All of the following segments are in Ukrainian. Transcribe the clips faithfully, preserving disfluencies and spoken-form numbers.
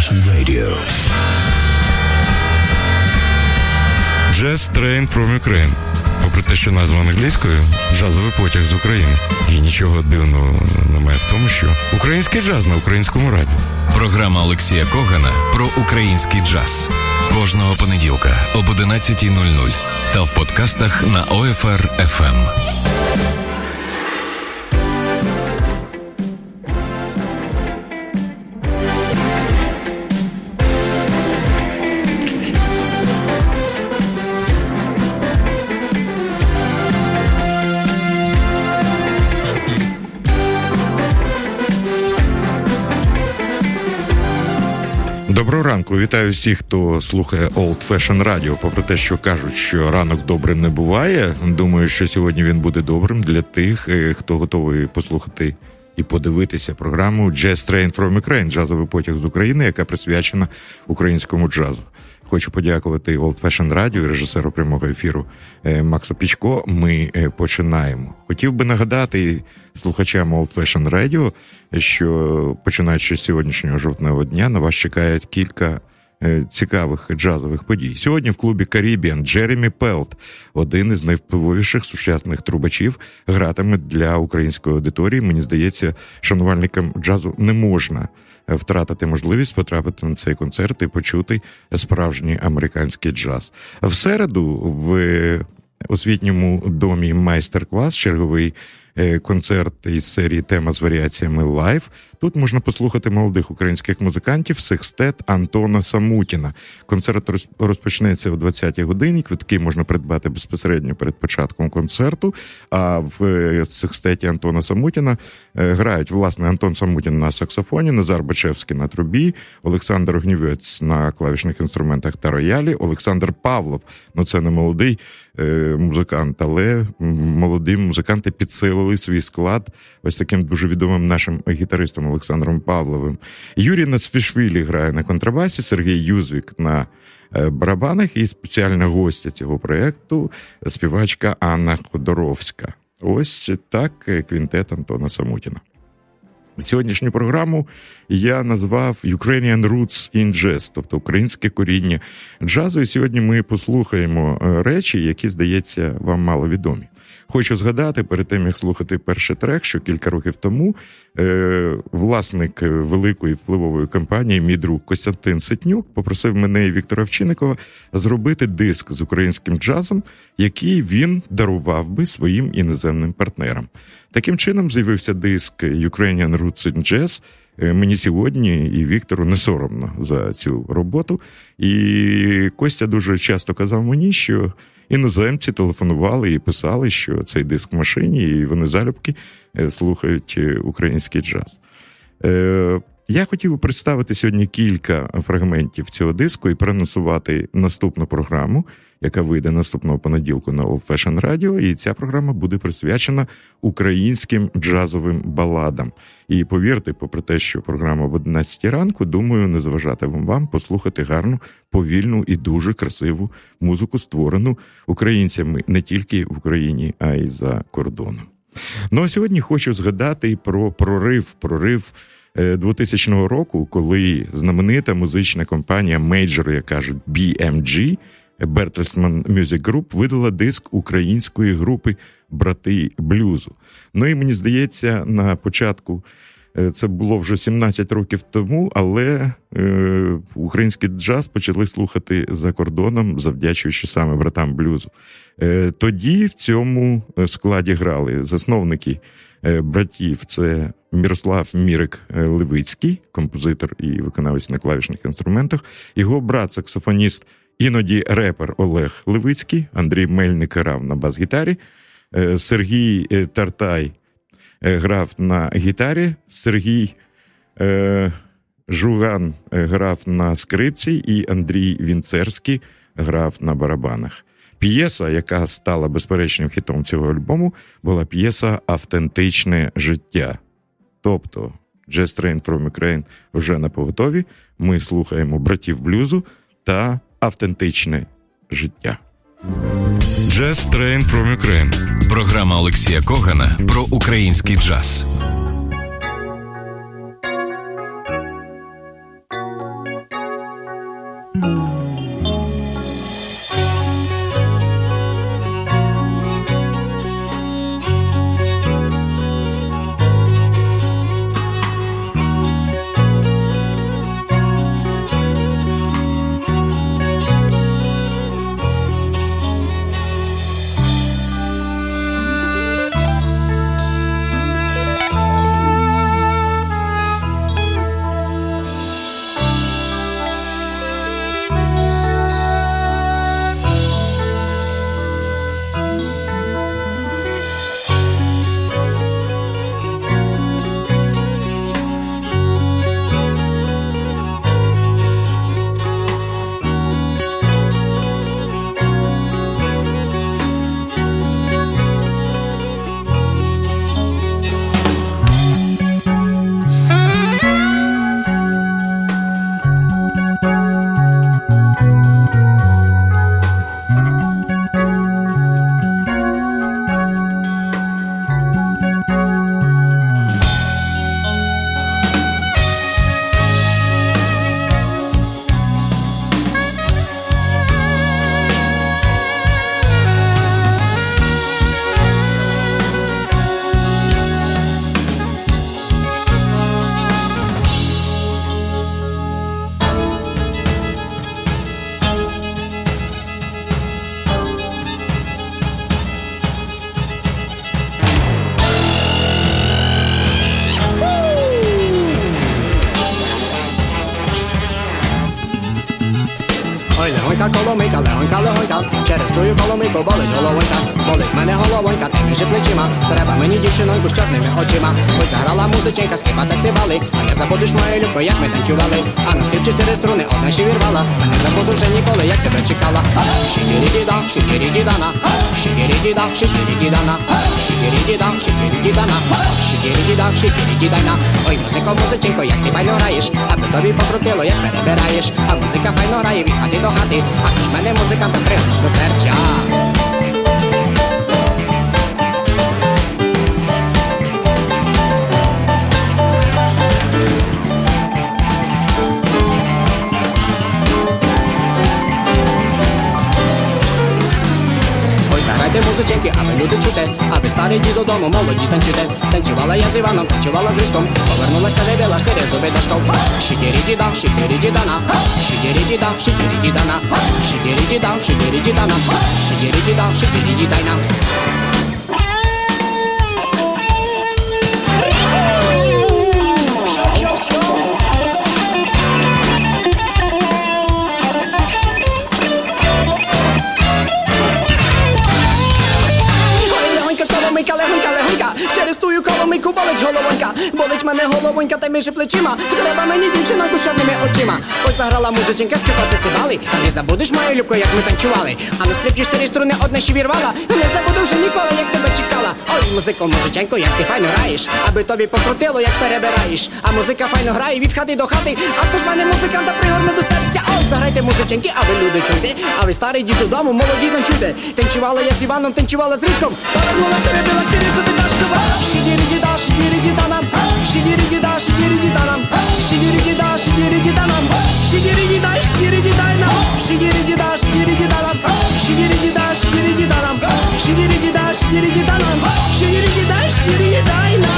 Old-Fashioned Radio. Jazz Train from Ukraine. Попри те, що назва англійською, джазовий потяг з України. І нічого дивного немає в тому, що український джаз на українському радіо. Програма Олексія Когана про український джаз. Кожного понеділка об одинадцятій нуль нуль та в подкастах на О Еф Ар Еф Ем. Доброго ранку. Вітаю всіх, хто слухає Old-Fashioned Radio. Попри те, що кажуть, що ранок добрим не буває, думаю, що сьогодні він буде добрим для тих, хто готовий послухати і подивитися програму Jazz Train from Ukraine, джазовий потяг з України, яка присвячена українському джазу. Хочу подякувати Old-Fashioned Radio і режисеру прямого ефіру Максу Пічко. Ми починаємо. Хотів би нагадати слухачам Old-Fashioned Radio, що починаючи з сьогоднішнього жовтневого дня на вас чекають кілька цікавих джазових подій. Сьогодні в клубі Caribbean Джеремі Пелт, один із найвпливовіших сучасних трубачів, гратиме для української аудиторії. Мені здається, шанувальникам джазу не можна втратити можливість потрапити на цей концерт і почути справжній американський джаз. В середу в освітньому домі майстер-клас, черговий концерт із серії «Тема з варіаціями лайв». Тут можна послухати молодих українських музикантів секстет Антона Самутіна. Концерт розпочнеться о двадцятій годині. Квитки можна придбати безпосередньо перед початком концерту. А в секстеті Антона Самутіна грають, власне, Антон Самутін на саксофоні, Назар Бачевський на трубі, Олександр Огнівець на клавішних інструментах та роялі, Олександр Павлов, ну це не молодий музикант, але молоді музиканти підсилили свій склад ось таким дуже відомим нашим гітаристом Олександром Павловим. Юрій Нацфішвілі грає на контрабасі, Сергій Юзвік на барабанах і спеціальна гостя цього проєкту – співачка Анна Ходоровська. Ось так квінтет Антона Самутіна. Сьогоднішню програму я назвав Ukrainian Roots in Jazz, тобто українське коріння джазу. І сьогодні ми послухаємо речі, які, здається, вам маловідомі. Хочу згадати, перед тим, як слухати перший трек, що кілька років тому е, власник великої впливової компанії, мій друг Костянтин Ситнюк, попросив мене і Віктора Овчинникова зробити диск з українським джазом, який він дарував би своїм іноземним партнерам. Таким чином з'явився диск Ukrainian Roots in Jazz. Мені сьогодні і Віктору не соромно за цю роботу. І Костя дуже часто казав мені, що іноземці телефонували і писали, що цей диск в машині, і вони залюбки слухають український джаз. Я хотів представити сьогодні кілька фрагментів цього диску і переносувати наступну програму, яка вийде наступного понеділку на Old-Fashioned Radio, і ця програма буде присвячена українським джазовим баладам. І повірте, попри те, що програма об одинадцятій ранку, думаю, не заважатиме вам послухати гарну, повільну і дуже красиву музику, створену українцями не тільки в Україні, а й за кордоном. Ну а сьогодні хочу згадати про прорив, прорив двотисячного року, коли знаменита музична компанія Major, як кажуть, бі ем джі, Bertelsmann Music Group, видала диск української групи «Брати блюзу». Ну і мені здається, на початку, це було вже сімнадцять років тому, але е, український джаз почали слухати за кордоном, завдячуючи саме «Братам блюзу». Е, тоді в цьому складі грали засновники е, братів, це Мірослав Мірик Левицький, композитор і виконавець на клавішних інструментах, його брат-саксофоніст, іноді репер Олег Левицький, Андрій Мельник грав на бас-гітарі, Сергій Тартай грав на гітарі, Сергій е, Жуган грав на скрипці і Андрій Вінцерський грав на барабанах. П'єса, яка стала безперечним хітом цього альбому, була п'єса «Автентичне життя». Тобто Jazz Train from Ukraine вже на поготові, ми слухаємо братів блюзу та «Автентичне життя». Jazz Train from Ukraine. Програма Олексія Когана про український джаз. Коломийка, легонька, легонька, через тую коломийку болить головонька. Болить мене головонька, ти між плечима. Треба мені дівчиноньку з чорними очима. Ось заграла музиченька, скрипа та цибали. А не забудеш мою любку, як ми танцювали. А на скрипці чотири струни, одна ще вірвала. А не забуду вже ніколи, як тебе чекала. Шикірі-діда, шикірі-дідана, шикірі-діда, шикірі-дідана, шикірі-діда, шикірі-дідана, шикірі-діда, шикірі-дідана. Ой, музико, музиченько, як ти файно граєш, аби тобі покрутило, як перебираєш. А музика файно грає від хати до хати. А ж мене музиканта пригнув до серця. Заграйте музиченьки, аби люди чути, аби старий дід додому, молоді танцюйте. Танцювала я з Іваном, танцювала з Різком, повернулась та вибила штири зуби дошком. Шикірі-діда, шикірі-дідана, шикірі-діда, шикірі-дідана, шикірі-діда, шикірі-дідана, шикірі-діда, шикірі-дідайна. Легонька, легонька, легонька, через тую коломийку болить головонька. Болить мене головонька, та між плечима. Треба мені дівчиноньку з чорними очима. Ось заграла музиченька, скрипати цибали. А не забудеш мою любку, як ми танцювали. А на скрипці чотири струни, одна ще вірвала. Не забуду вже ніколи, як тебе чекала. Ой, музико, музиченько, як ти файно граєш, аби тобі покрутило, як перебираєш. А музика файно грає від хати до хати. А то ж мене музиканта пригорне до серця. Ой, заграйте музиченьки, а ви люди чуйте. А ви старий дід додому, молоді танцюйте. Танцювала я з Іваном, танцювала з Різком. Повернулась тебе била штири зуби дашкова. Шикірі-діда, шикірі-дідана, шикірі-діда, шикірі-дідана, шикірі-діда, шикірі-дідана, шикірі-діда, шикірі-дідайна, шикірі-діда, шикірі-дідана, шикірі-діда, шикірі-дідана, шикірі-діда, шикірі-дідана, шикірі-діда, шикірі-дідайна.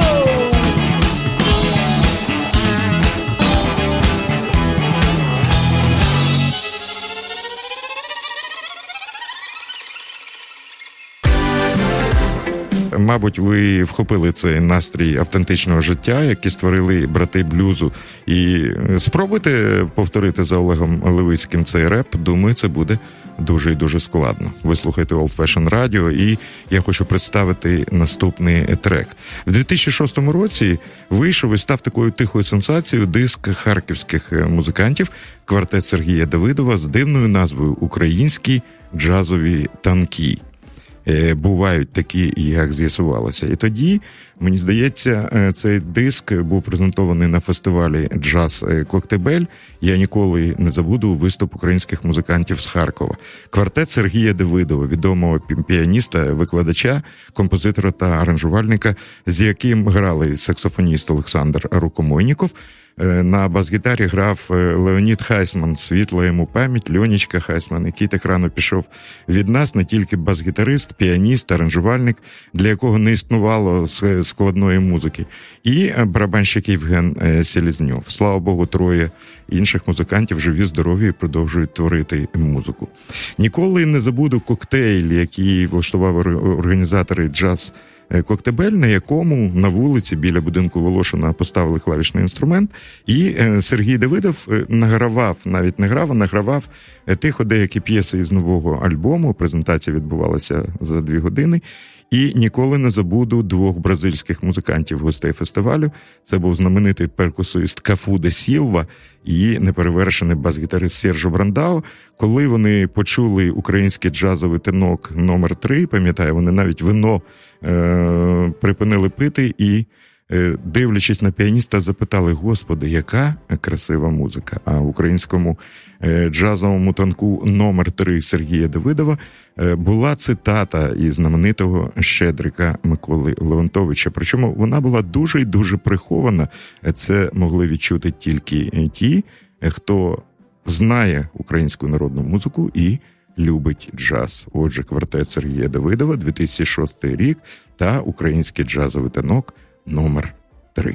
Мабуть, ви вхопили цей настрій автентичного життя, який створили брати блюзу. І спробуйте повторити за Олегом Левицьким цей реп. Думаю, це буде дуже і дуже складно. Ви слухаєте Old Fashion Radio, і я хочу представити наступний трек. В дві тисячі шостому році вийшов і став такою тихою сенсацією диск харківських музикантів квартет Сергія Давидова з дивною назвою «Українські джазові танки». Бувають такі, як з'ясувалося. І тоді, мені здається, цей диск був презентований на фестивалі «Джаз Коктебель». Я ніколи не забуду виступ українських музикантів з Харкова. Квартет Сергія Давидова, відомого піаніста, викладача, композитора та аранжувальника, з яким грали саксофоніст Олександр Рукомойніков, на бас-гітарі грав Леонід Хайсман, світла йому пам'ять, Льонічка Хайсман, який так рано пішов від нас, не тільки бас-гітарист, піаніст, аранжувальник, для якого не існувало складної музики, і барабанщик Євген Селезньов. Слава Богу, троє інших музикантів живі, здорові і продовжують творити музику. Ніколи не забуду коктейль, який влаштували організатори джаз Коктебель, на якому на вулиці біля будинку Волошина поставили клавішний інструмент, і Сергій Давидов награвав, навіть не грав, а награвав тихо деякі п'єси із нового альбому. Презентація відбувалася за дві години. І ніколи не забуду двох бразильських музикантів, гостей фестивалю. Це був знаменитий перкусист Кафу де Сілва і неперевершений бас-гітарист Сержо Брандау. Коли вони почули український джазовий тенок номер три, пам'ятаю, вони навіть вино е- припинили пити і, е- дивлячись на піаніста, запитали: «Господи, яка красива музика!» А в українському е- джазовому танку номер три Сергія Давидова е- була цитата із знаменитого Щедрика Миколи Леонтовича. Причому вона була дуже і дуже прихована. Це могли відчути тільки ті, хто знає українську народну музику і любить джаз. Отже, квартет Сергія Давидова, дві тисячі шостий рік, та український джазовий танок номер три.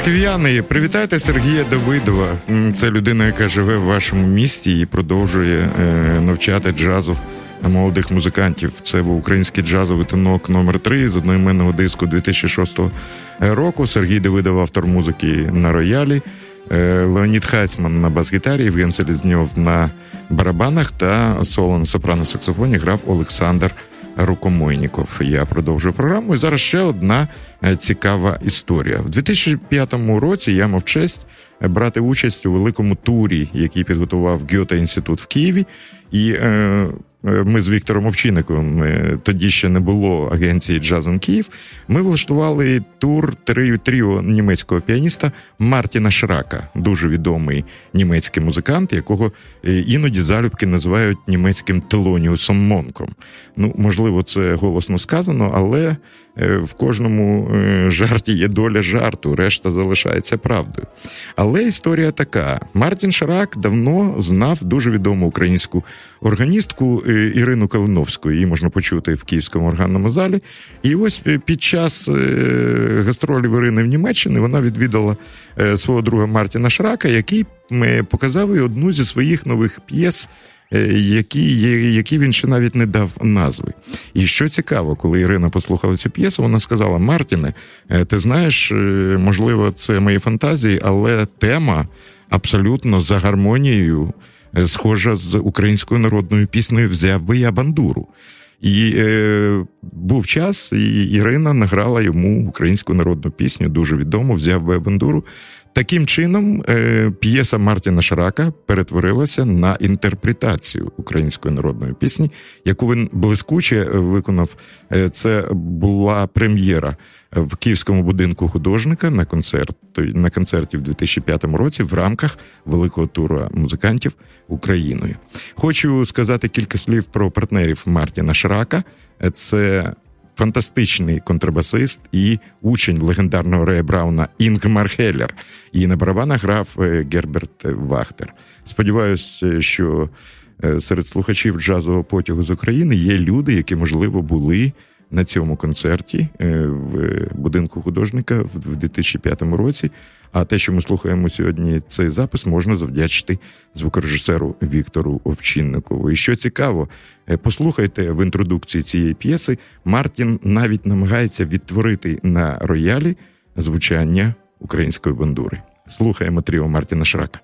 Харків'яни, привітайте Сергія Давидова. Це людина, яка живе в вашому місті і продовжує е, навчати джазу молодих музикантів. Це був український джазовий танок номер три з одноіменного диску дві тисячі шостого року. Сергій Давидов, автор музики на роялі, е, Леонід Хайцман на бас-гітарі, Євген Селезньов на барабанах та соло на сопрано-саксофоні грав Олександр Рукомойніков. Я продовжую програму. І зараз ще одна цікава історія. В дві тисячі п'ятому році я мав честь брати участь у великому турі, який підготував Гьоте-інститут в Києві. І е, ми з Віктором Овчинником, тоді ще не було агенції «Джазен Київ», ми влаштували тур тріо німецького піаніста Мартіна Шрака, дуже відомий німецький музикант, якого іноді залюбки називають німецьким Телоніусом Монком. Ну, можливо, це голосно сказано, але в кожному жарті є доля жарту, решта залишається правдою. Але історія така. Мартін Шрак давно знав дуже відому українську органістку Ірину Калиновську. Її можна почути в Київському органному залі. І ось під час гастролів Ірини в Німеччині вона відвідала свого друга Мартіна Шрака, який показав їй одну зі своїх нових п'єс, які, які він ще навіть не дав назви. І що цікаво, коли Ірина послухала цю п'єсу, вона сказала: Мартіне, ти знаєш, можливо, це мої фантазії, але тема абсолютно за гармонією схожа з українською народною піснею «Взяв би я бандуру». І е, був час, і Ірина награла йому українську народну пісню, дуже відому, «Взяв би я бандуру». Таким чином, е, п'єса Мартіна Шрака перетворилася на інтерпретацію української народної пісні, яку він блискуче виконав. Е, це була прем'єра в Київському будинку художника на, концерт, на концерті в дві тисячі п'ятому році в рамках великого туру музикантів Україною. Хочу сказати кілька слів про партнерів Мартіна Шрака. Це фантастичний контрабасист і учень легендарного Рея Брауна Інгмар Хеллер. І на барабанах грав Герберт Вахтер. Сподіваюсь, що серед слухачів джазового потягу з України є люди, які, можливо, були на цьому концерті в будинку художника в дві тисячі п'ятому році. А те, що ми слухаємо сьогодні, цей запис, можна завдячити звукорежисеру Віктору Овчинникову. І що цікаво, послухайте в інтродукції цієї п'єси, Мартін навіть намагається відтворити на роялі звучання української бандури. Слухаємо тріо Мартіна Шрака.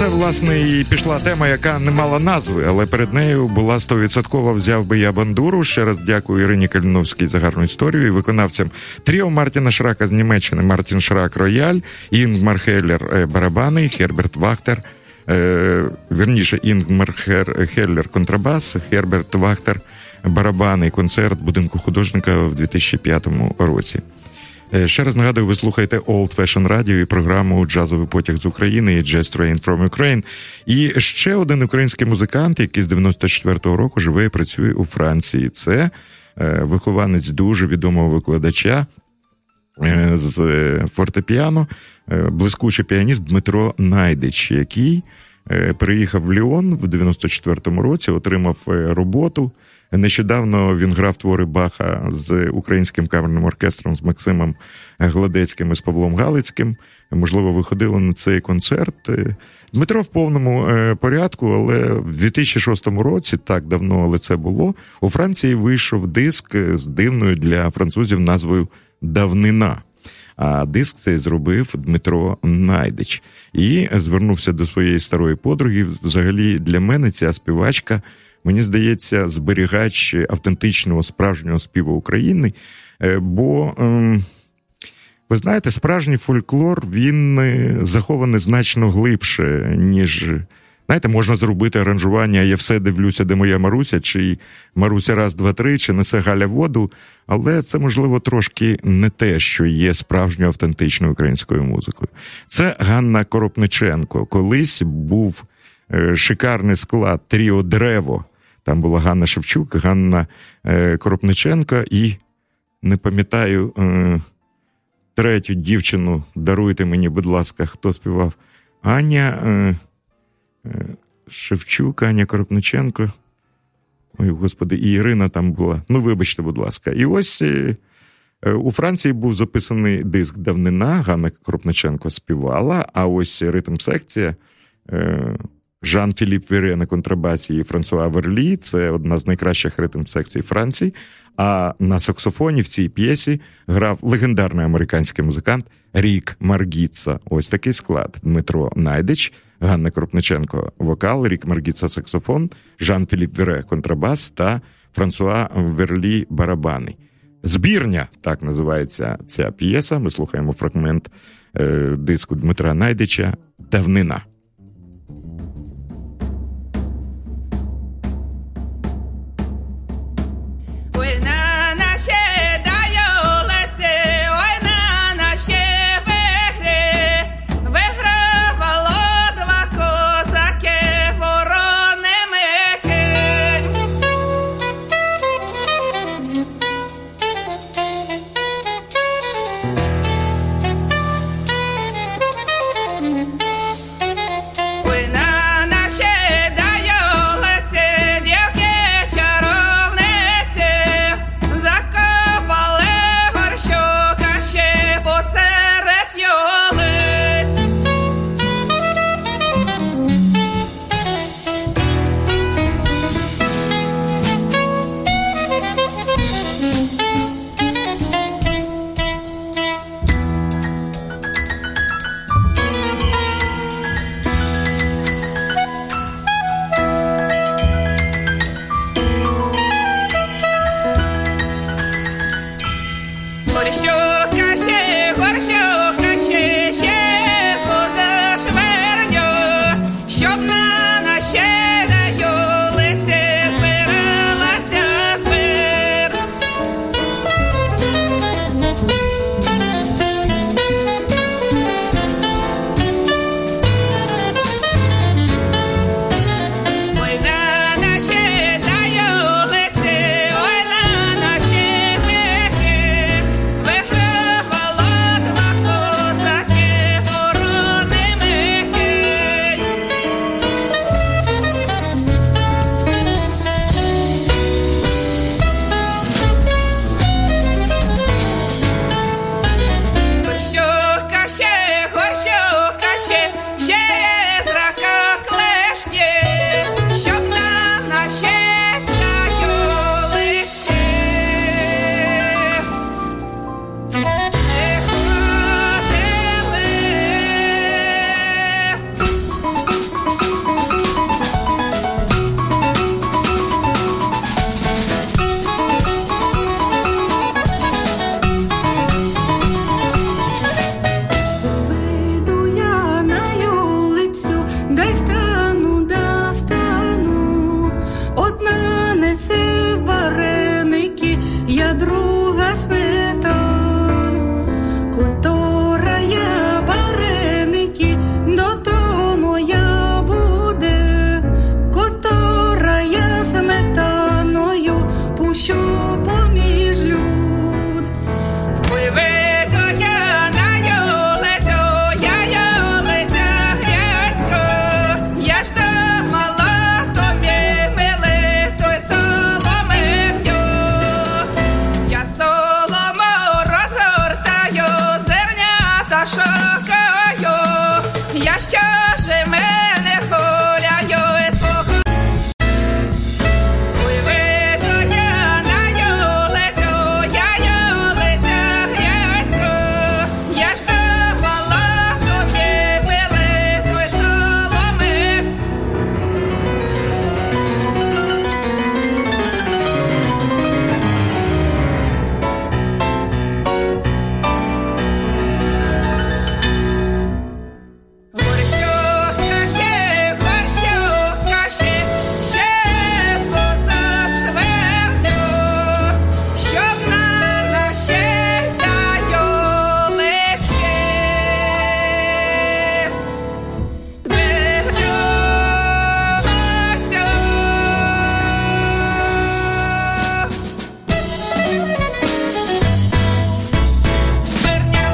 це, власне, і пішла тема, яка не мала назви, але перед нею була сто відсоткова «Взяв би я бандуру». Ще раз дякую Ірині Каліновській за гарну історію і виконавцям тріо Мартіна Шрака з Німеччини, Мартін Шрак рояль, Інгмар Хеллер барабани, Херберт Вахтер, е, верніше Інгмар Хеллер контрабас, Херберт Вахтер барабани. Концерт будинку художника в дві тисячі п'ятому році. Ще раз нагадую, ви слухаєте Old Fashion Radio і програму «Джазовий потяг з України» і «Jazz Train from Ukraine». І ще один український музикант, який з дев'яносто четвертого року живе і працює у Франції. Це вихованець дуже відомого викладача з фортепіано, блискучий піаніст Дмитро Найдич, який приїхав в Ліон в дев'яносто четвертому році, отримав роботу. Нещодавно він грав твори Баха з Українським камерним оркестром, з Максимом Гладецьким і з Павлом Галицьким. Можливо, ви ходили на цей концерт. Дмитро в повному порядку, але в дві тисячі шостому році, так давно, але це було, у Франції вийшов диск з дивною для французів назвою «Давнина». А диск цей зробив Дмитро Найдич. І звернувся до своєї старої подруги. Взагалі, для мене ця співачка, мені здається, зберігач автентичного, справжнього співу України. Бо, ви знаєте, справжній фольклор, він захований значно глибше, ніж... Знаєте, можна зробити аранжування «Я все дивлюся, де моя Маруся», чи «Маруся раз, два, три», чи «Несе Галя воду», але це, можливо, трошки не те, що є справжньою автентичною українською музикою. Це Ганна Коропниченко. Колись був шикарний склад тріо «Древо». Там була Ганна Шевчук, Ганна Коропниченко і, не пам'ятаю, третю дівчину, даруйте мені, будь ласка, хто співав, Аня... Шевчук, Аня Коропниченко, ой, господи, і Ірина там була. Ну, вибачте, будь ласка. І ось у Франції був записаний диск «Давнина», Ганна Коропниченко співала, а ось ритм-секція Жан-Філіп Віре на контрабасі і Франсуа Верлі, це одна з найкращих ритм-секцій Франції, а на саксофоні в цій п'єсі грав легендарний американський музикант Рік Маргіца. Ось такий склад: Дмитро Найдич, Ганна Коропниченко вокал, Рік Маргіца саксофон, Жан-Філіп Віре контрабас та Франсуа Верлі барабани. «Збірня» – так називається ця п'єса. Ми слухаємо фрагмент е, диску Дмитра Найдича «Давнина». дай стану, да стану. Одна несе вареники, я друга сметану. Котора я вареники, до того моя буде. Котора я сметаною пущу поміж люд. Виведу я на йолецю, я йолеця грязько. Я ж та мала, то мє миле, той соломи в'юз. Я солому розгортаю, зернята шукаю. Я що ж мене хуляю, і спокою. Виведу я на йолецю, я йолеця грязько. Я ж та мала, то мє миле, той соломи. Горщу каші, горщу каші, ще своза чвертю, щоб на наші та йолиці твердюлася. Зверня.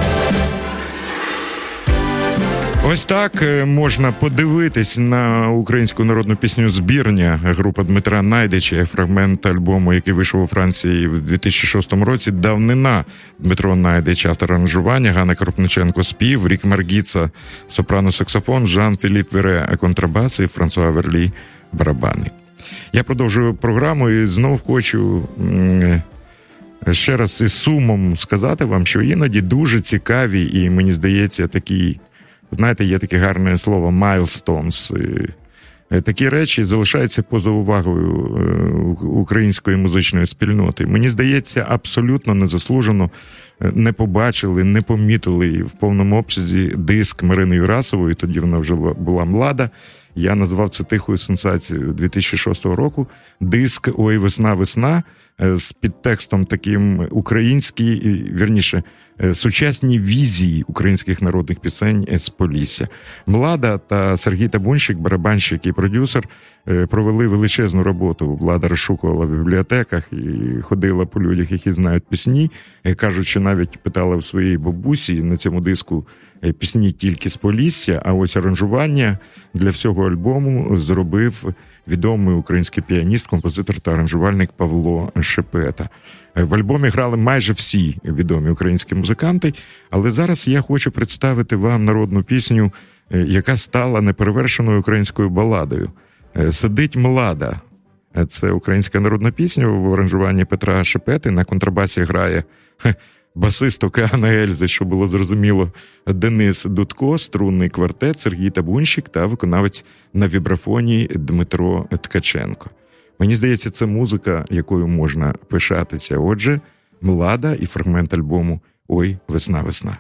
Ось так е, можна подивитись на українську народну пісню «Збірня» група Дмитра Найдича, фрагмент альбому, який вийшов у Франції в дві тисячі шостому році. «Давнина» Дмитро Найдич, автор аранжування, Ганна Крупниченко спів, Рік Маргіца сопрано-саксофон, Жан-Філіп Вере контрабас і Франсуа Верлі барабани. Я продовжую програму і знов хочу м, ще раз із сумом сказати вам, що іноді дуже цікаві і, мені здається, такі, знаєте, є таке гарне слово «milestones». Е, Такі речі залишаються поза увагою е, української музичної спільноти. Мені здається, абсолютно незаслужено е, не побачили, не помітили в повному обсязі диск Марини Юрасової, тоді вона вже була млада. Я назвав це тихою сенсацією дві тисячі шостого року. Диск «Ой, весна, весна» е, з підтекстом таким український, і, вірніше, е, сучасні візії українських народних пісень з Полісся. Млада та Сергій Табунщик, барабанщик і продюсер, е, провели величезну роботу. Влада розшукувала в бібліотеках і ходила по людях, які знають пісні. Е, Кажуть, що навіть питала в своєї бабусі на цьому диску е, пісні тільки з Полісся, а ось аранжування для всього альбому зробив відомий український піаніст, композитор та аранжувальник Павло Шепета. В альбомі грали майже всі відомі українські музиканти, але зараз я хочу представити вам народну пісню, яка стала неперевершеною українською баладою. «Сидить млада». Це українська народна пісня в аранжуванні Петра Шепети. На контрабасі грає хе, басист Океана Ельзи, що було зрозуміло, Денис Дудко, струнний квартет, Сергій Табунщик та виконавець на вібрафоні Дмитро Ткаченко. Мені здається, це музика, якою можна пишатися. Отже, «Млада» і фрагмент альбому «Ой, весна, весна».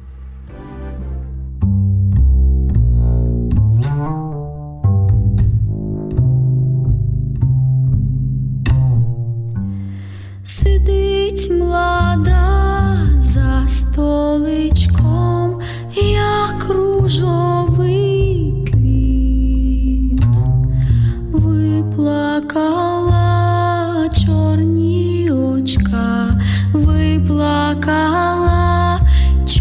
Сидить млада за столичком, як ружовий квіт, виплакала чорні очка, виплакала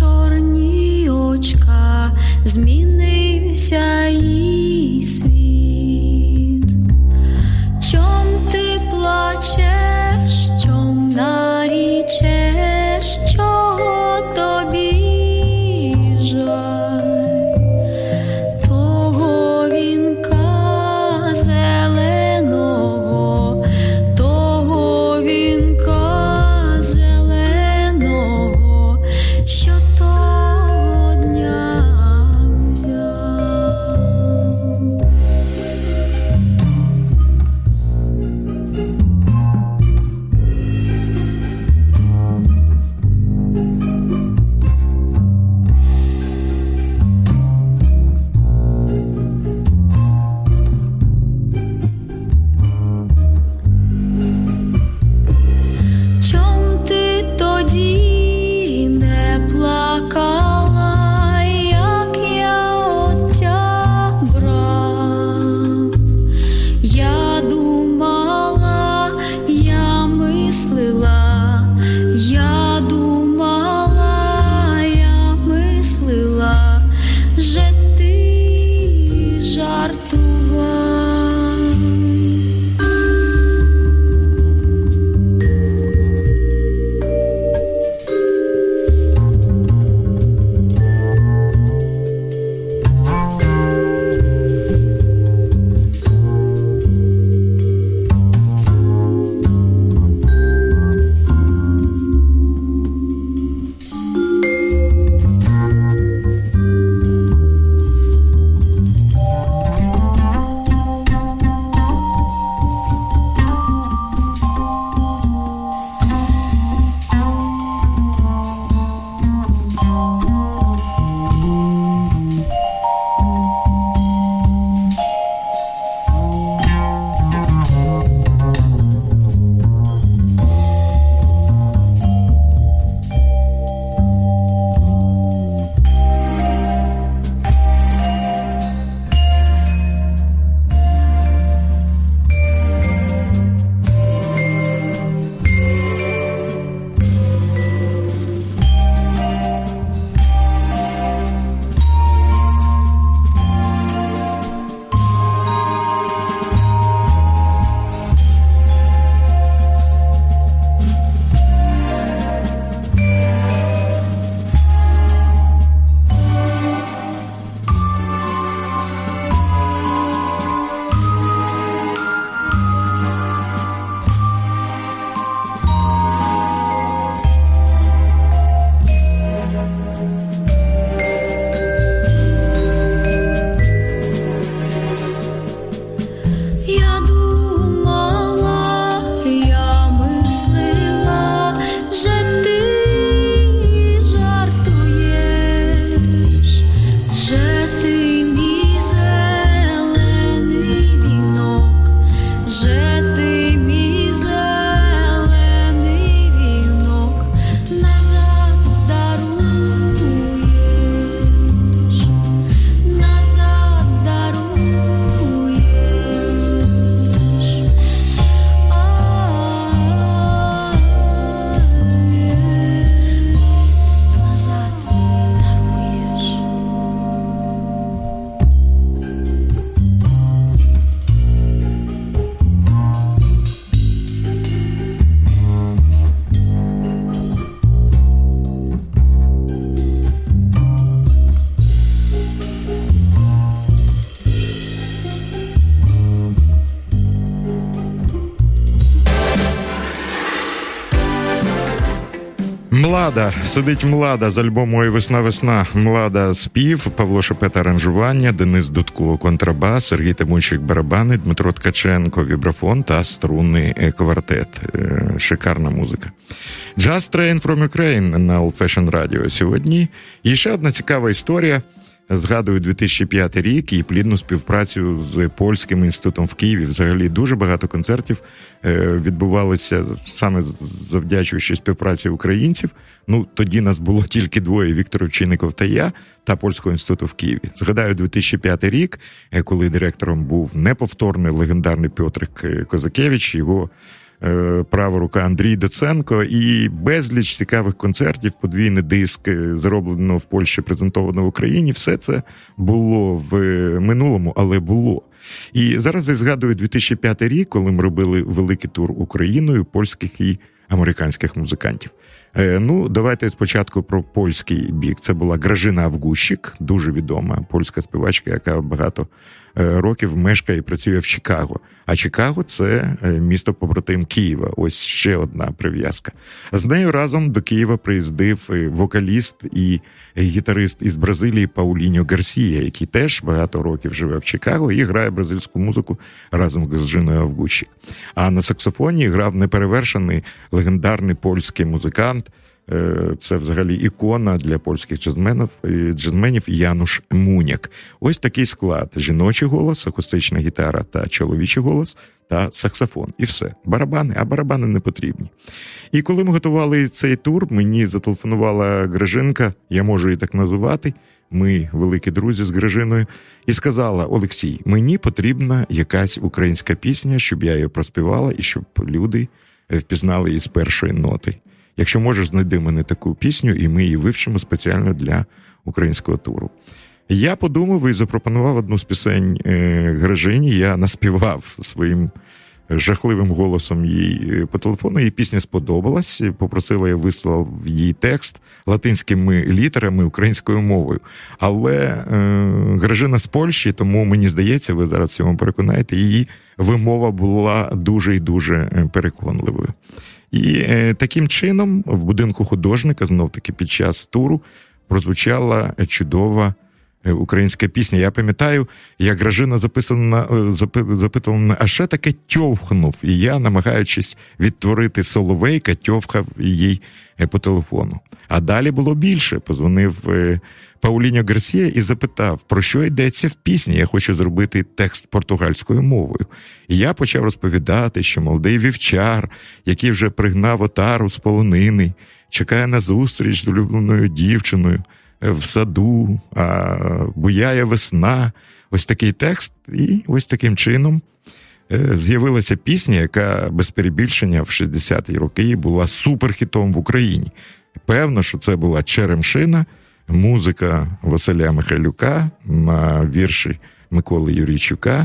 «Млада», «Сидить млада» з альбому «Ой, весна-весна», «Млада» спів, Павло Шепета аранжування, Денис Дудко контрабас, Сергій Тимончик барабани, Дмитро Ткаченко вібрафон та струнний квартет. Шикарна музика. «Just Train from Ukraine» на Old Fashion Radio сьогодні. І ще одна цікава історія. Згадую дві тисячі п'ятий рік і плідну співпрацю з Польським інститутом в Києві. Взагалі дуже багато концертів відбувалися саме завдячуючи співпраці українців. Ну, тоді нас було тільки двоє, Віктор Овчинников та я, та Польського інституту в Києві. Згадаю дві тисячі п'ятий рік, коли директором був неповторний легендарний Пьотрик Козакевич, його права рука Андрій Доценко, і безліч цікавих концертів, подвійний диск, зроблено в Польщі, презентовано в Україні. Все це було в минулому, але було. І зараз я згадую дві тисячі п'ятий рік, коли ми робили великий тур Україною польських і американських музикантів. Ну, давайте спочатку про польський бік. Це була Гражина Авгущик, дуже відома польська співачка, яка багато років мешкає і працює в Чикаго. А Чикаго – це місто-побратим Києва. Ось ще одна прив'язка. З нею разом до Києва приїздив вокаліст і гітарист із Бразилії Пауліньо Гарсія, який теж багато років живе в Чикаго і грає бразильську музику разом з Жіною Авгущик. А на саксофоні грав неперевершений легендарний польський музикант. Це взагалі ікона для польських джазменів, джазменів Януш Муняк. Ось такий склад: жіночий голос, акустична гітара та чоловічий голос та саксофон. І все. Барабани, а барабани не потрібні. І коли ми готували цей тур, мені зателефонувала Гражинка, я можу її так називати, ми великі друзі з Гражиною, і сказала: Олексій, мені потрібна якась українська пісня, щоб я її проспівала і щоб люди впізнали її з першої ноти. Якщо можеш, знайди мене таку пісню, і ми її вивчимо спеціально для українського туру. Я подумав і запропонував одну з пісень Гражині. Я наспівав своїм жахливим голосом їй по телефону. Їй пісня сподобалась, попросила, я вислав їй текст латинськими літерами українською мовою. Але е, Гражина з Польщі, тому мені здається, ви зараз в цьому переконаєте, її вимова була дуже і дуже переконливою. І е, таким чином в будинку художника, знов-таки під час туру, прозвучала чудова е, українська пісня. Я пам'ятаю, як Гражина записана, запи, запитала мене, а що таке тьовхнув? І я, намагаючись відтворити Соловейка, тьовхав їй е, по телефону. А далі було більше. Позвонив е, Пауліньо Гарсія і запитав, про що йдеться в пісні. Я хочу зробити текст португальською мовою. І я почав розповідати, що молодий вівчар, який вже пригнав отару з полонини, чекає на зустріч з улюбленою дівчиною в саду, а буяє весна. Ось такий текст. І ось таким чином з'явилася пісня, яка без перебільшення в шістдесяті роки була суперхітом в Україні. Певно, що це була «Черемшина», музика Василя Михайлюка на вірші Миколи Юрійчука.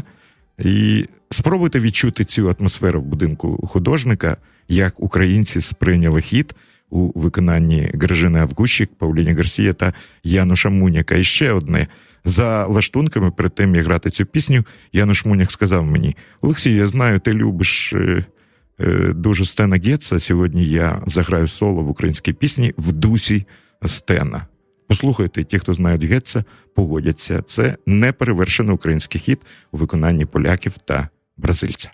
І спробуйте відчути цю атмосферу в будинку художника, як українці сприйняли хіт у виконанні Гражини Авгущик, Пауліньо Гарсія та Януша Муняка. І ще одне. За лаштунками, перед тим, як грати цю пісню, Януш Муняк сказав мені: Олексій, я знаю, ти любиш е, е, дуже Стена Гетца. Сьогодні я заграю соло в українській пісні в дусі Стена. Послухайте, ті, хто знають Гетца, погодяться. Це неперевершений український хіт у виконанні поляків та бразильця.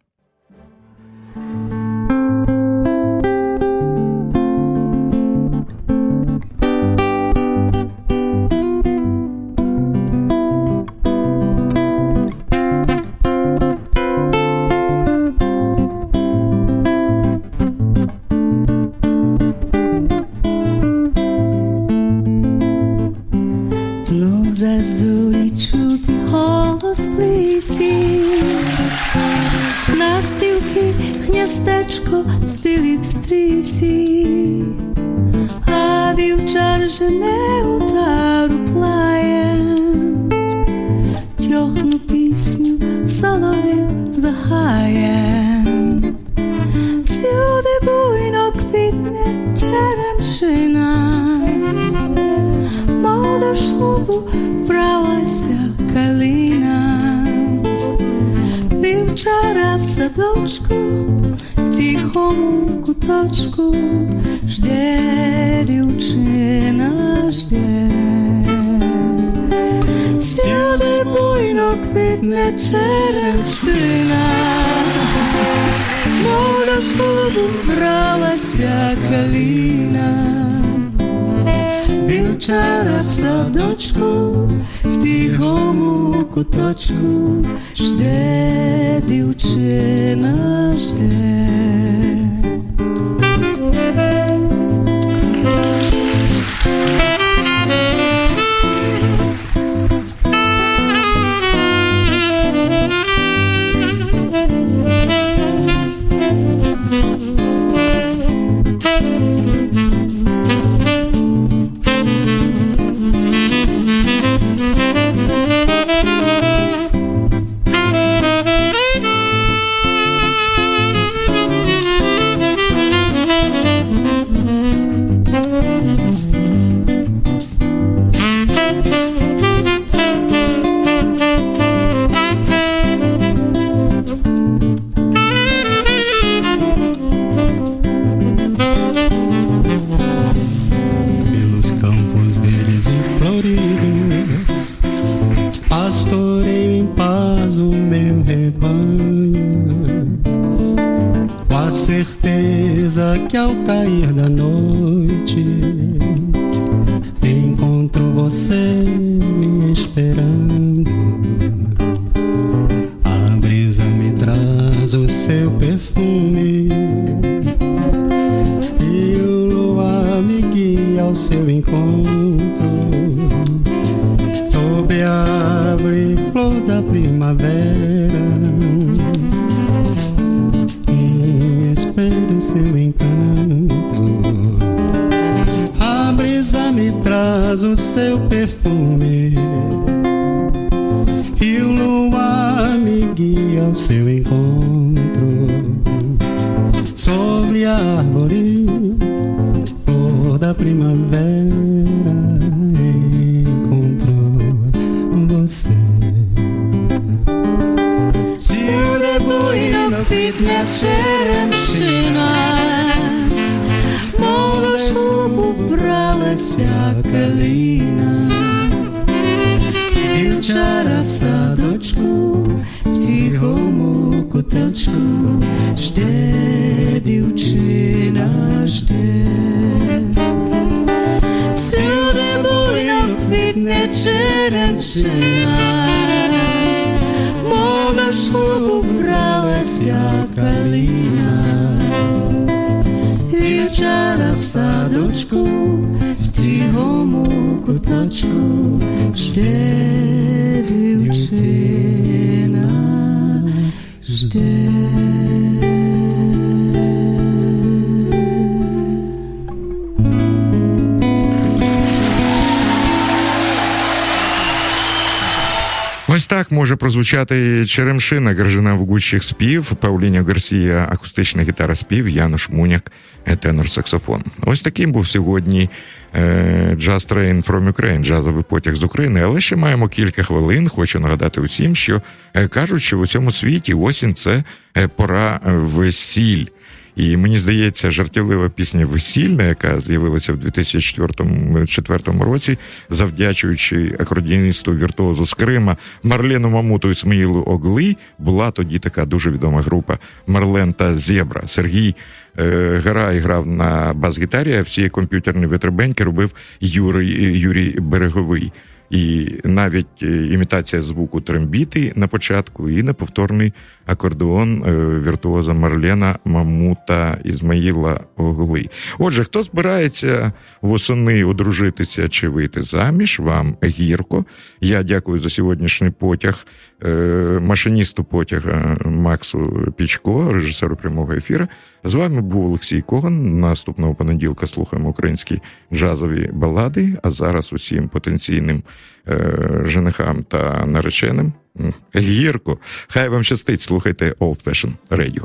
Зазулі чути голос в лісі, настівки гніздечко спілі в стрісі, а вівчар жене утару плає, тьохну пісню соловей загає. Всюди буйно квітне черемшина, мов до шлюбу вбралася калина. Вівчара в садочку в тихому куточку жде дівчина, жде. Сюди буйно квітне черемшина, мов до шлюбу бралася калина. Вівчара в садочку, в тихому куточку жде дівчина, жде. Ось так може прозвучати черемшина, Гражина Вугущих спів, Пауліня Гарсія акустична гітара спів, Януш Муняк тенор-саксофон. Ось таким був сьогодні е, Jazz Train from Ukraine, джазовий потяг з України, але ще маємо кілька хвилин. Хочу нагадати усім, що е, кажуть, що в усьому світі осінь – це е, пора весіль. І мені здається, жартівлива пісня «Весільна», яка з'явилася в дві тисячі четвертому році, завдячуючи акордіоністу-віртуозу з Крима Марлену Мамуту і Ісмаїлу Огли, була тоді така дуже відома група «Марлен та Зебра». Сергій е, Гарай грав на бас-гітарі, а всі комп'ютерні витребеньки робив Юрій, Юрій Береговий. І навіть імітація звуку трембіти на початку і неповторний акордеон віртуоза Марлена Мамута Ізмаїла Огли. Отже, хто збирається восени одружитися чи вийти заміж, вам гірко. Я дякую за сьогоднішній потяг машиністу потяга Максу Пічко, режисеру прямого ефіру. З вами був Олексій Коган. Наступного понеділка слухаємо українські джазові балади, а зараз усім потенційним е, женихам та нареченим гірко. Хай вам щастить, слухайте Old Fashion Radio.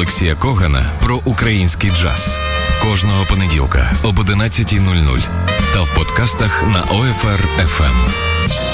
Олексія Когана про український джаз. Кожного понеділка об одинадцятій нуль нуль та в подкастах на О Еф Ар Еф Ем.